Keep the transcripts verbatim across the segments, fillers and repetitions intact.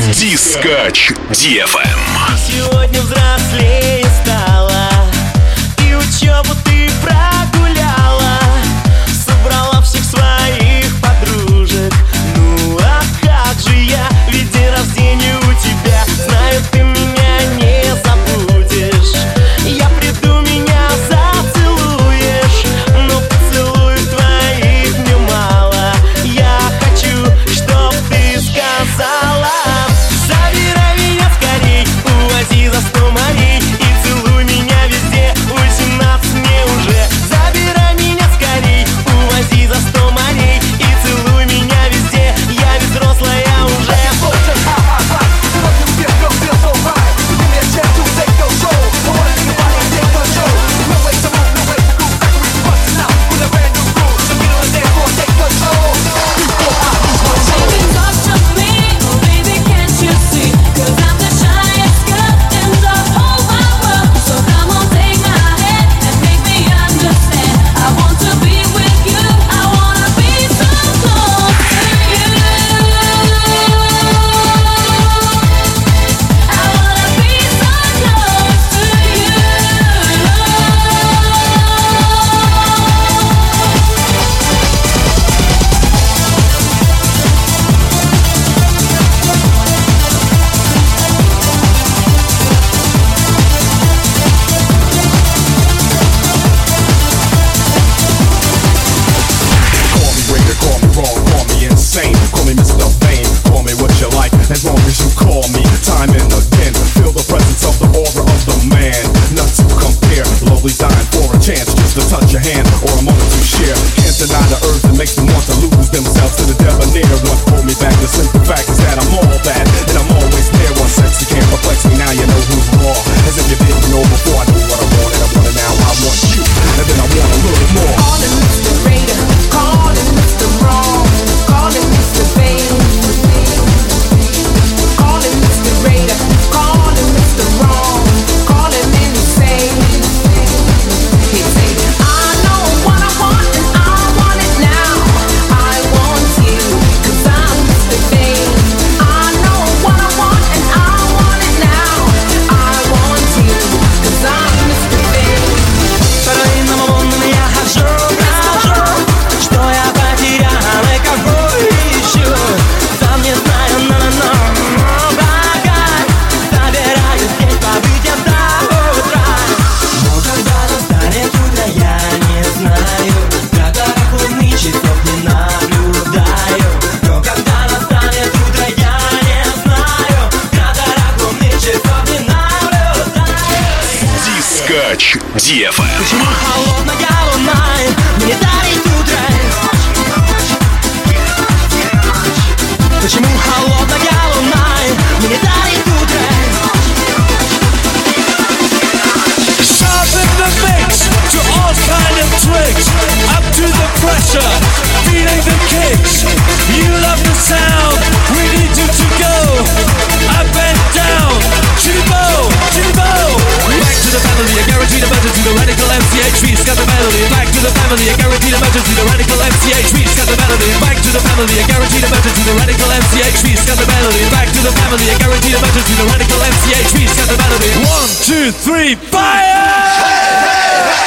Дискач ди эф эм. Сегодня взрослее стала, и учебу ты прогуляла, собрала всех своих подружек. Ну а как же я, ведь день рождения у тебя. Знаю, ты меня не забудешь. Я приду, меня зацелуешь, но поцелуев твоих мне мало. Я хочу, чтоб ты сказала: забирай меня скорей, увози за сто морей и целуй меня везде. Восемнадцать мне уже. Забирай меня скорей, увози за сто морей и целуй меня везде. Я ведь взрослая уже. As long as you call me, time and again, feel the presence of the aura of the man. Not to compare, lovely dying for a chance, just to touch your hand or a moment to share. Can't deny the urge that makes them want to lose themselves to the debonair. What pulled me back, the simple fact is that I'm all that, and I'm always there. One sex you can't perplex me, now you know who's raw. As if you didn't know before, I knew what I wanted, I want it now, I want you, and then I want a little more. Calling Mister Raider, calling Mister Wrong, calling Mister Babe. Calling Mister Raider, calling Mister Wrong, calling insane. He'd say, I know what I want and I want it now. I want you, cause I'm Mister Babe. I know what I want and I want it now. I want you, cause I'm Mister Babe. По длинному лунам я хожу, хожу, что я потерял и кого ищу. Сам не знаю, но-но-но. Дискач ди эф эм. Почему холодная луна мне дарит утро? Почему холодная луна мне дарит утро? Sharpen the mix to all kind of tricks. Up to the pressure, feeling the kicks. You love the sound, we need you to go up and down. Chitty-bo, chitty-bo. Back to the family, a guaranteed emergency. The radical M C H V, scat the melody. Back to the family, a guaranteed emergency. The radical M C H V, scat the melody. Back to the family, a guaranteed emergency. The radical M C H V, scat the melody. Back to the family, a guaranteed emergency. The radical M C H V, scat the melody. One, two, three, fire! Hey, hey, hey!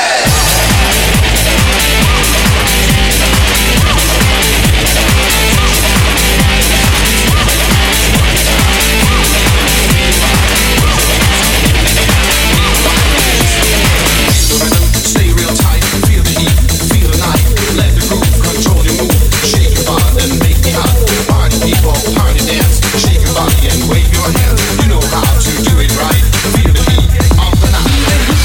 Party and wave your hands, you know how to do it right. Feel the heat of the night.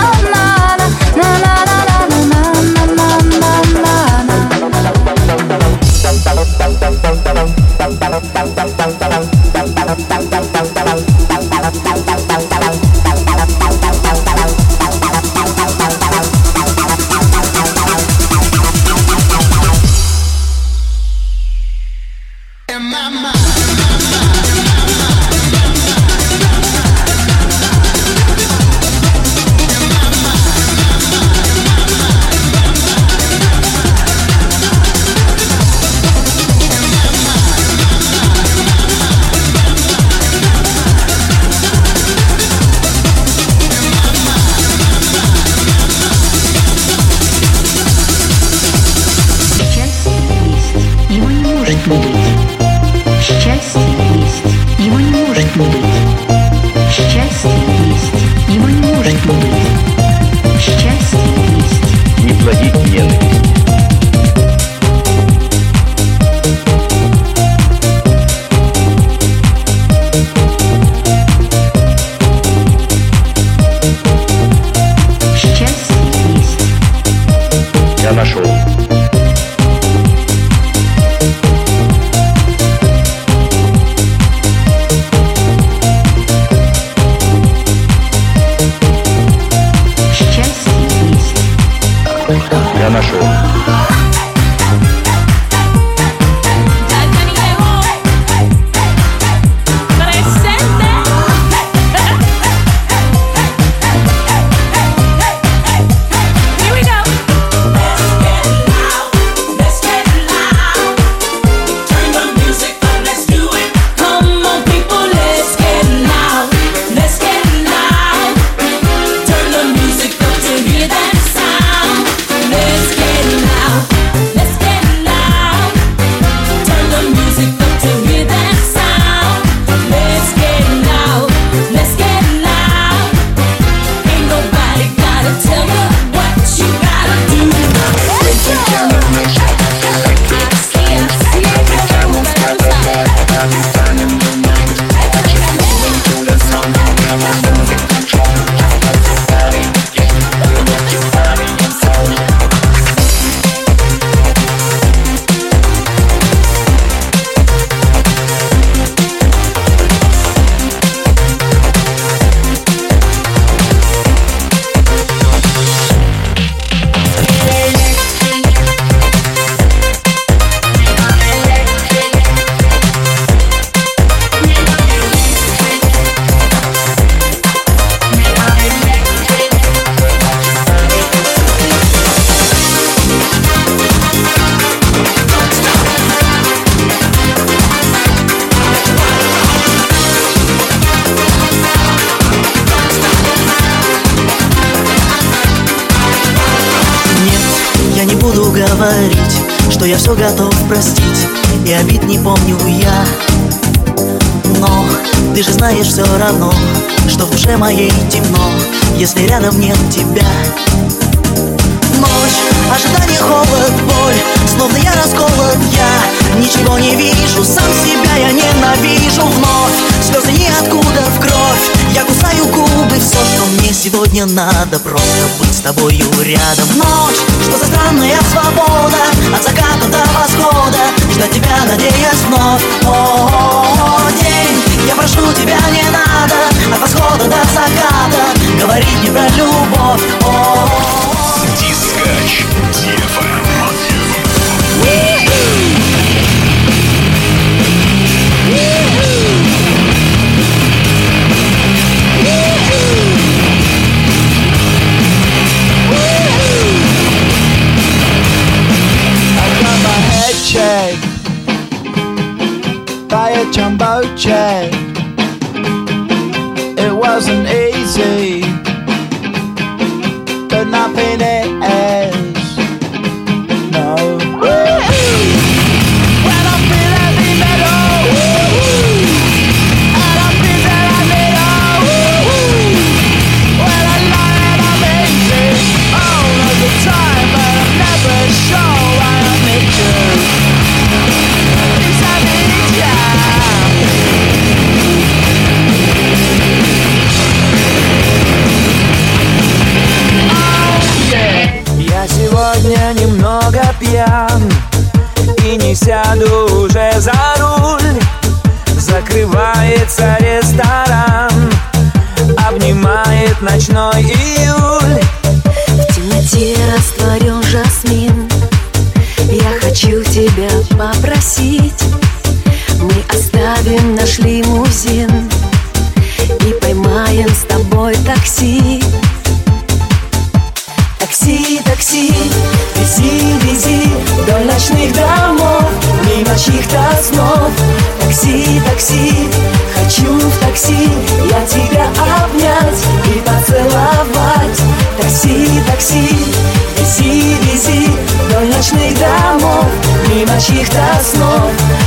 может не быть. Счастье есть, его не может не быть. Счастье есть, его не может не быть. Счастье есть. Не плодить ненависть. Я нашел. Счастье есть. Я нашел. Говорить, что я все готов простить, и обид не помню я. Но ты же знаешь все равно, что в душе моей темно, если рядом нет тебя. Ночь, ожидание, холод, боль, словно я расколот, я ничего не вижу, сам себя я ненавижу. Вновь слезы ниоткуда в кровь, я кусаю губы. Все, что мне сегодня надо, просто быть с тобою рядом. Ночь, что за странная свобода, от заката до восхода, ждать тебя, надеясь вновь. О, день, я прошу тебя, не надо, от восхода до заката говорить мне про любовь. О, Дискач ди эф эм. Check by a jumbo jet. It wasn't easy, but nothing is. No. When I feel heavy metal, and I feel that I need all. When I lie and I'm easy all of the time, but I'm never sure why I need you. Я сегодня немного пьян и не сяду уже за руль. Закрывается ресторан, обнимает ночной июль. В темноте растворен жасмин. Я хочу тебя попросить, мы оставим наш лимузин и поймаем с тобой такси. Такси, такси, вези, вези вдоль ночных домов, мимо чьих-то снов. Такси, такси, хочу в такси я тебя обнять и поцеловать. Такси, такси, вези, вези вдоль ночных домов, мимо чьих-то снов.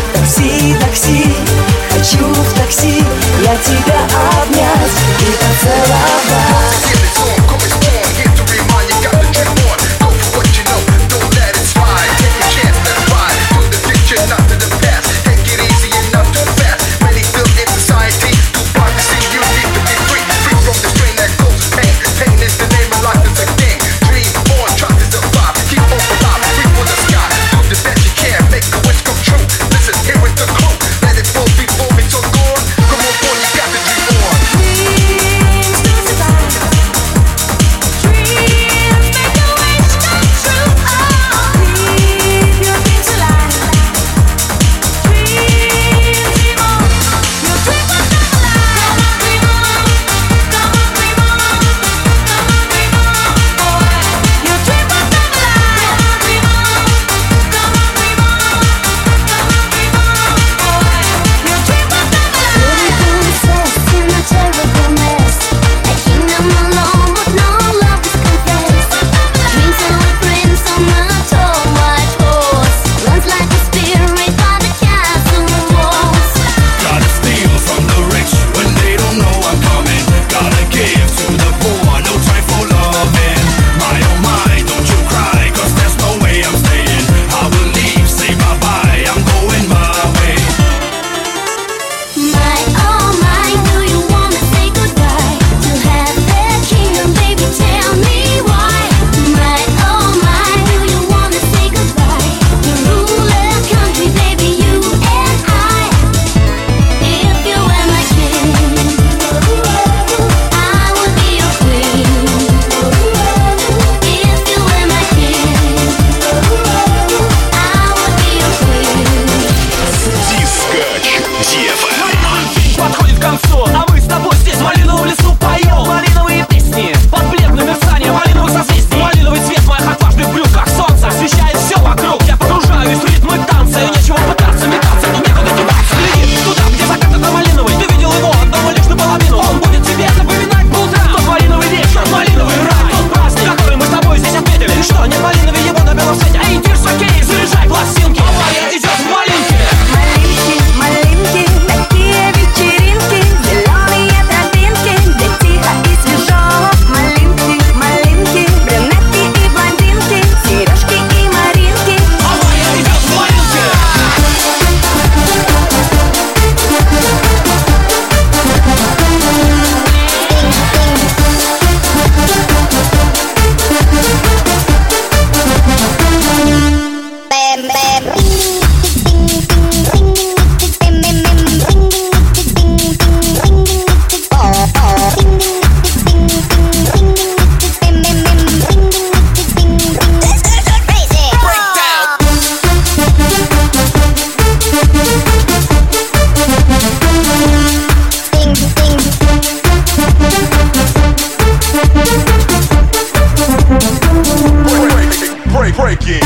breaking.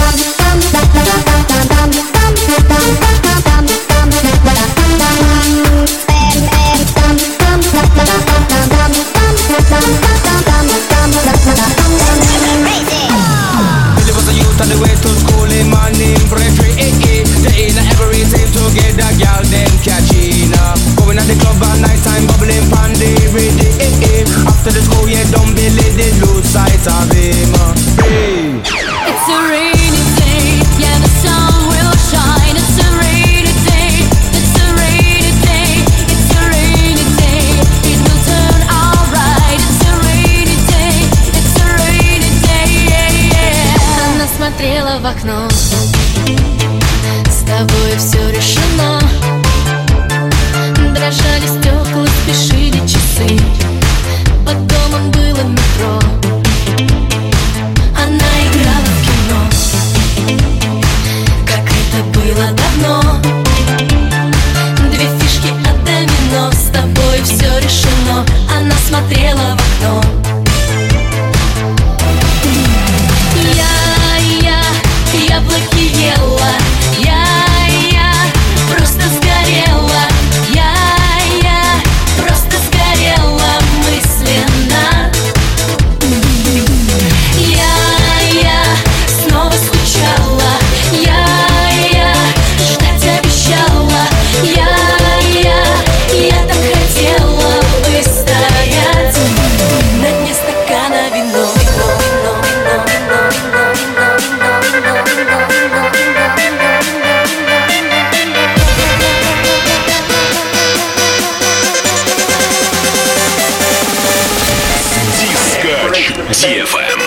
Billy was a youth on the way to school in my name Frederick. They in every team to get the girl them catching up. Going at the club at night time, bubbling pan the rhythm. After the school, yeah, don't Billy, they lose sight of him. Hey. It's a rainy day, yeah, the sun will shine. It's a rainy day, it's a rainy day, it's a rainy day. It will turn alright. It's a rainy day, it's a rainy day, yeah, yeah. Она смотрела в окно, с тобой все решено. Дрожали стекла, спешили часы, под домом было метро. Она играла в кино, как это было давно. Две фишки от домино, с тобой все решено. Она смотрела в окно. Я, я, яблоки ела. Я, я, просто сгорела. Я, я, просто сгорела мысленно. Я, я снова скучала. Я, я ждать обещала. Я, я, я так хотела выстоять на дне стакана вино. Дискач ди эф эм.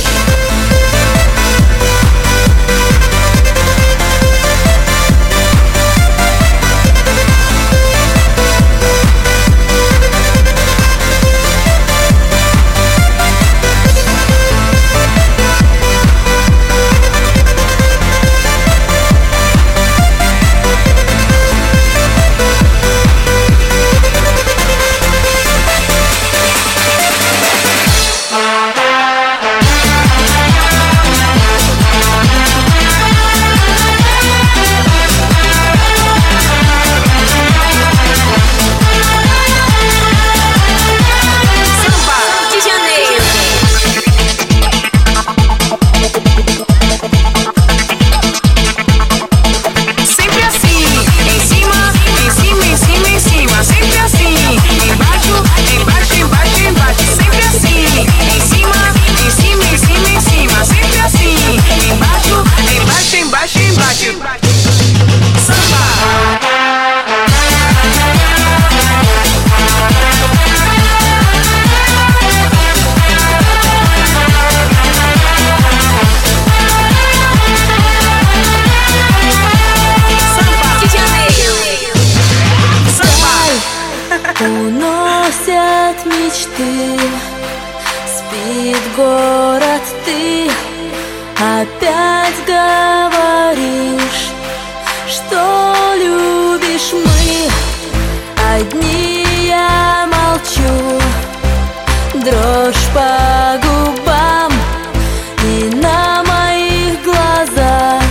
Уносят мечты, спит город, ты опять говоришь, что любишь, мы одни, я молчу. Дрожь по губам и на моих глазах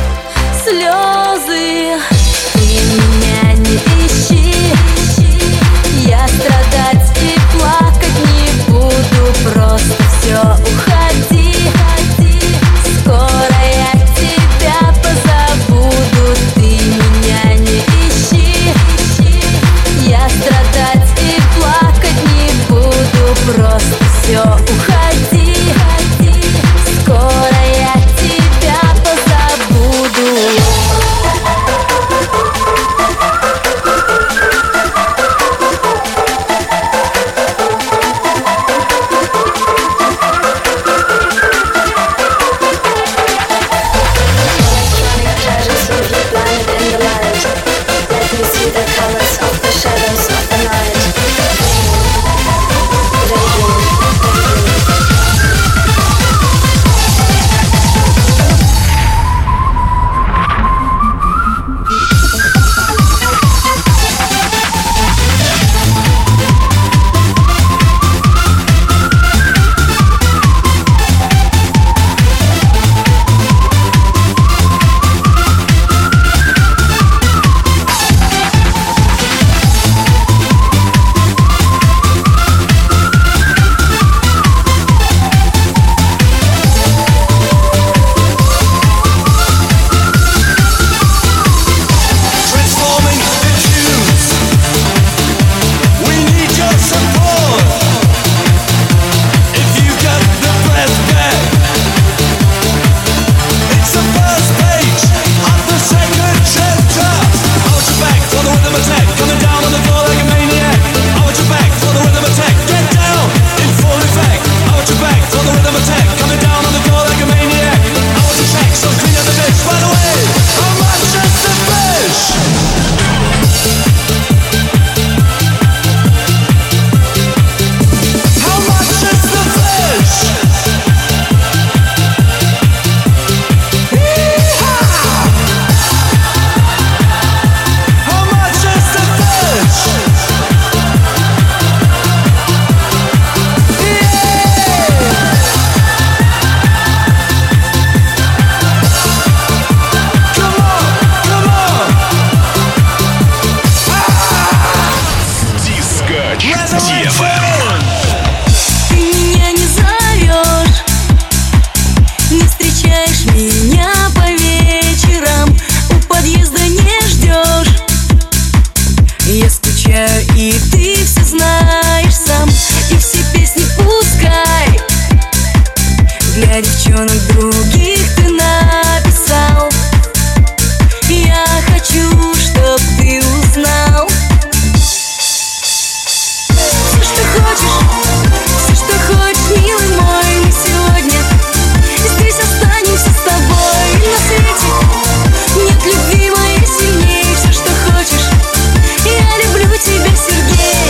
слезы. Ты меня не ищи, я страдать и плакать не буду. Просто все, уходи, скоро я тебя позабуду. Ты меня не ищи, я страдать и плакать не буду. Просто все, уходи. девчонок других ты написал. Я хочу, чтоб ты узнал все, что хочешь, все, что хочешь, милый мой. Мы сегодня здесь останемся с тобой. На свете нет любви моей сильнее. Все, что хочешь, я люблю тебя, Сергей.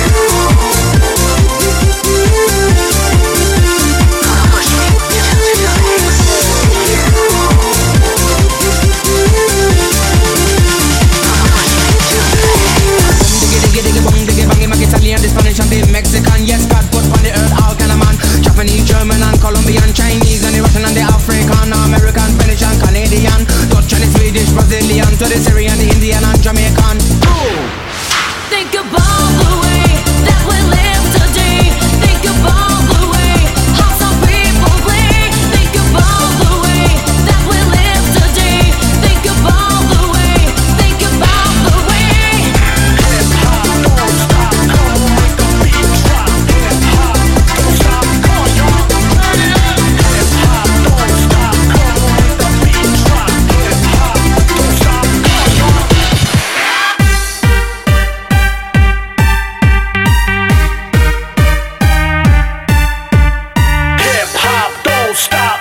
Italian, the Spanish and the Mexican. Yes, God put on the earth all kind of man. Japanese, German and Colombian, Chinese and the Russian and the African, American, Spanish and Canadian, Dutch and the Swedish, Brazilian, to the Syrian, the Indian and Jamaican. Think about the way that we live today. Think about the way how some people play. Think about the way that we live today. Think about the way, think about the way. Hip hop, don't stop, come on, make the beat drop. Hip hop, don't stop, come on, y'all, turn it up. Hip hop, don't stop, come on, make the beat drop. Hip hop, don't stop, come on, y'all. Hip hop, don't stop.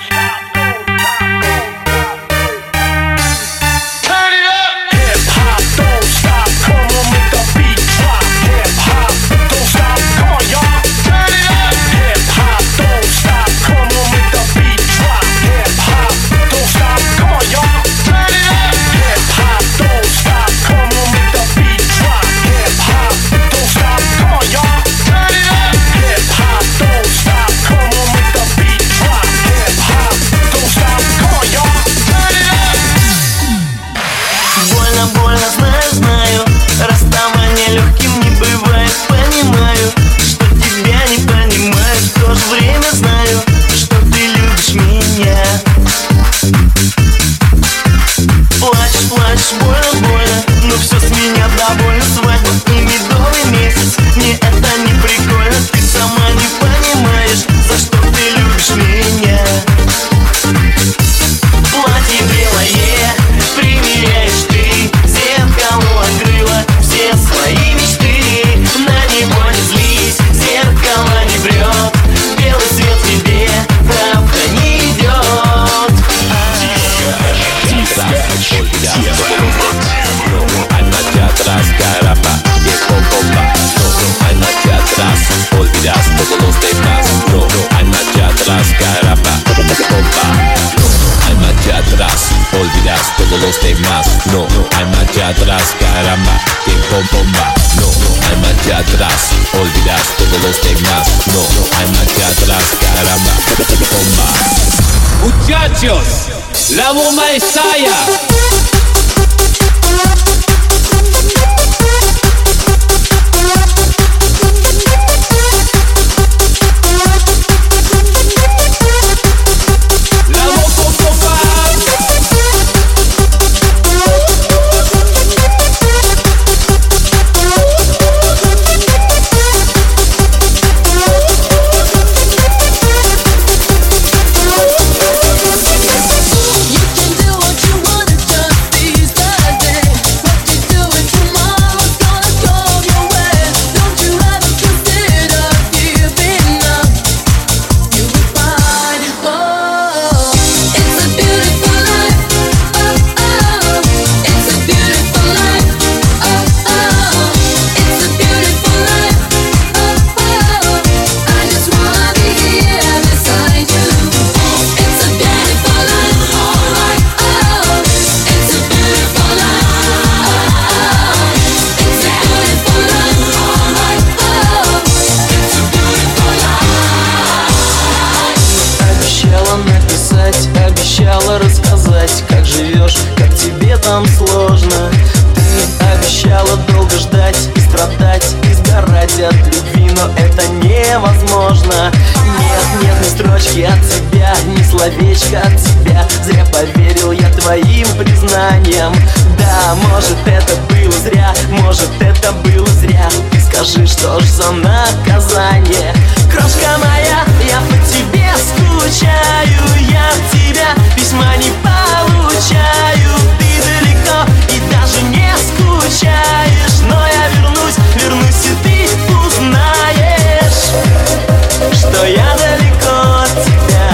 Turn it up. Hip hop, don't stop. Come on, make the beat drop. Hip hop, don't stop. Come on, y'all. Turn it up. Hip hop, don't stop. Come on, make the beat drop. Hip hop, don't stop. Come on, y'all. Turn it up. Hip hop, don't stop. Come on, make the beat drop. Hip hop, don't stop. Come on, y'all. Turn it up. Hip hop, don't stop. Come on, make the beat drop. Hip hop, don't stop. Come on, y'all. Turn it up. Больно, больно, знаю, знаю. Расставание легким не бывает. Понимаю, что тебя не понимаю. В то же время знаю, что ты любишь меня. Плачешь, плачешь, больно, больно, но все с меня довольно. Свадьба и медовый месяц, мне это не прикольно. Ты сама не понимаешь, за что ты любишь меня. Платье белое примеряешь ты, зеркало открыла все свои мечты. На него не злись, зеркало не врет, белый свет тебе правда не идет. Hay marcha atrás, caramba, tiempo bomba. No, no hay marcha atrás, olvidas todos los demás. No, no hay marcha atrás, caramba, bomba. No, no hay marcha atrás, olvidas todos los demás. No, no hay marcha atrás, caramba, tiempo bomba. No, no hay marcha atrás, olvidas todos los demás. No, no hay marcha atrás, caramba, bomba. Muchachos, la bomba estalla. You can do what you wanna, just these days. нам сложно. Ты обещала долго ждать и страдать, и сгорать от любви, но это невозможно. Нет, нет ни строчки от тебя, ни словечка от тебя. Зря поверил я твоим признаниям. Да, может это было зря, может это было зря. Ты сказала, Скажи, что ж за наказание? Крошка моя, я по тебе скучаю, я от тебя письма не получаю. Ты далеко и даже не скучаешь, но я вернусь, вернусь, и ты узнаешь, что я далеко от тебя.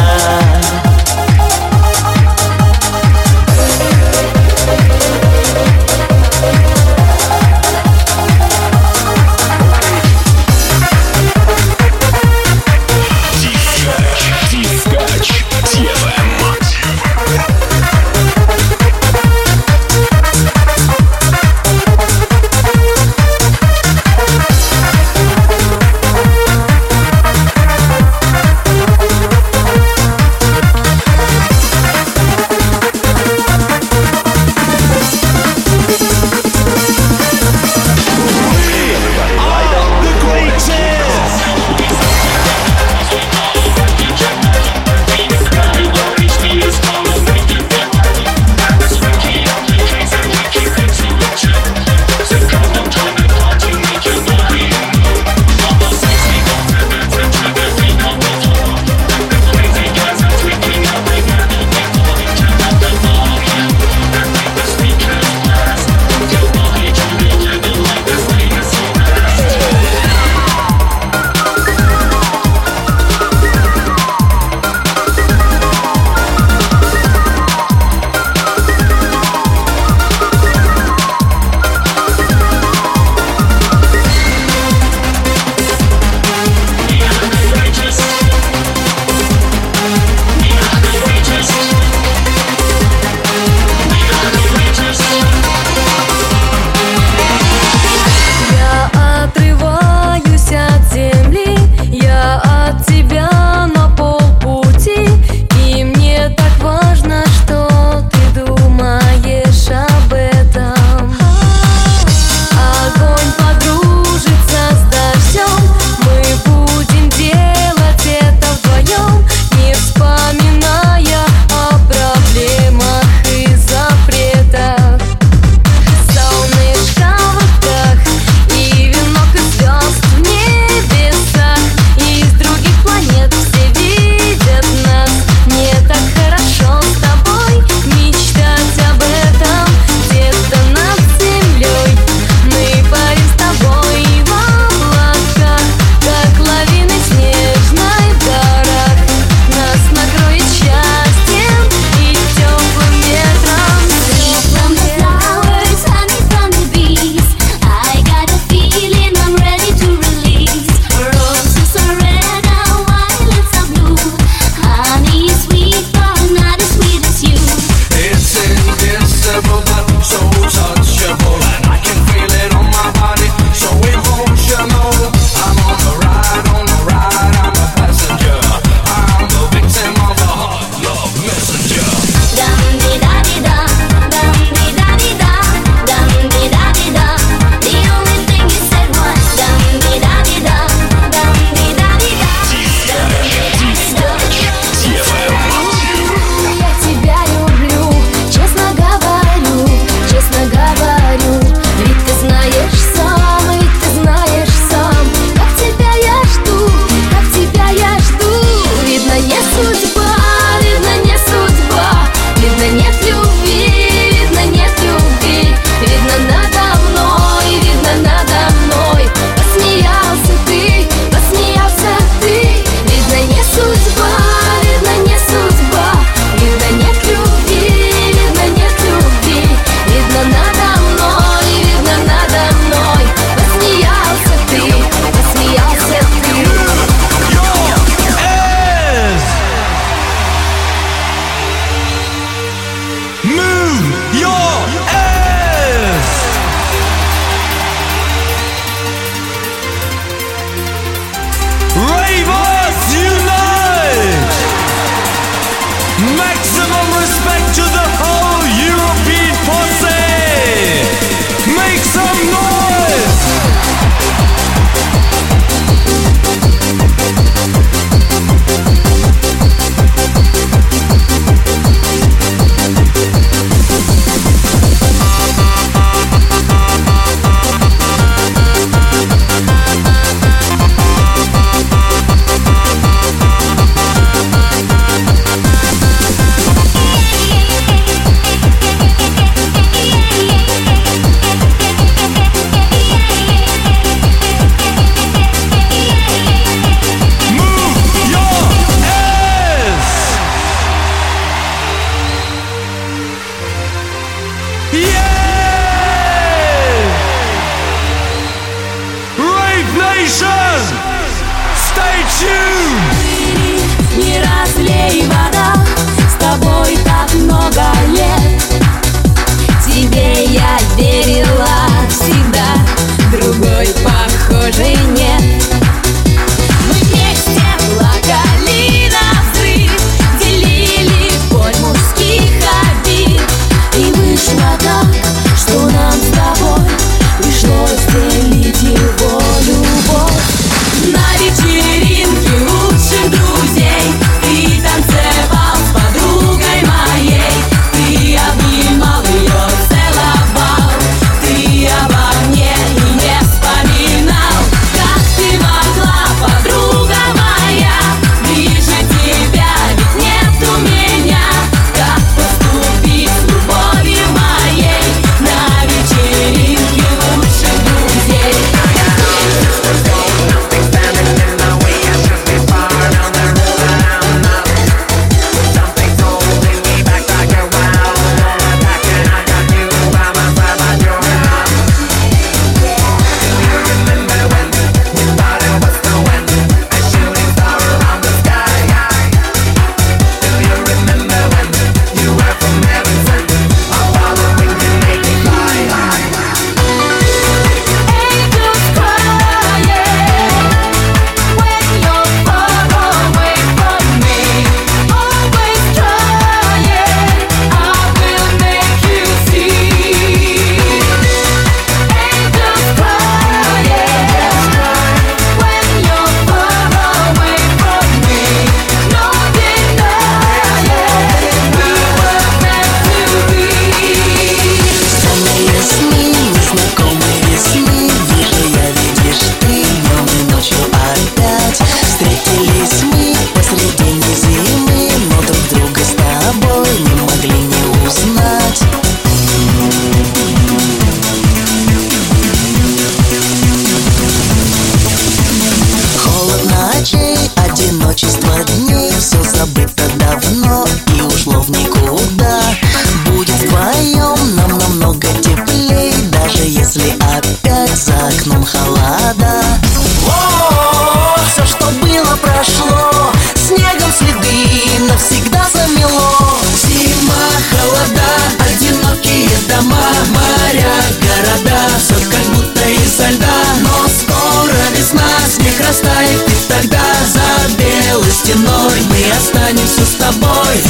давно и ушло в никуда. Будет вдвоем нам намного теплей, даже если опять за окном холода. О, все, что было, прошло, снегом следы навсегда замело. Зима, холода, одинокие дома, моря, города, все как будто изо льда. Но скоро весна, снег растает, и тогда за белой стеной мы останемся с тобой.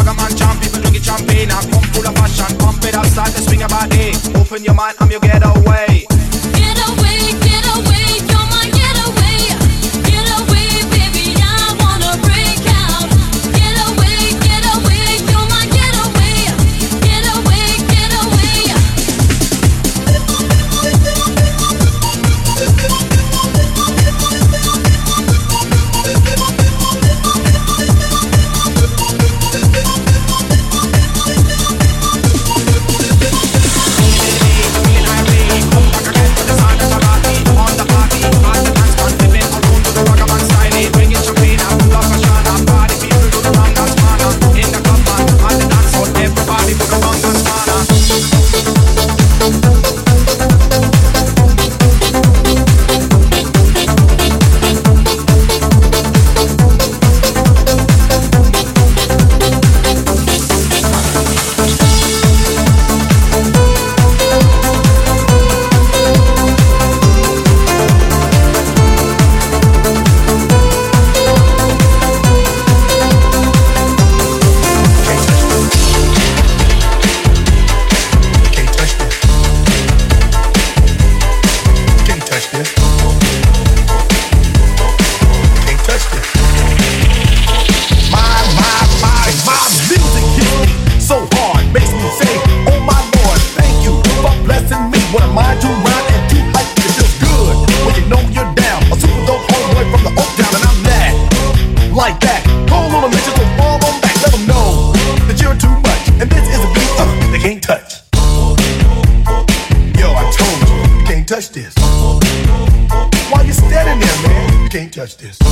Ragaman champ, people drink it champagne. I come full of passion, pump it up, start to swing your body. Open your mind, I'm your getaway. Get away, get away, you're my getaway. Get away, baby, I wanna break out. Get away, get away, you're my getaway. Get away, get away. Like that, hold on a minute, just don't fall on back. Let them know that you're too much, and this is a beat uh, they can't touch. Yo, I told you, you can't touch this. Why you standing there, man? You can't touch this.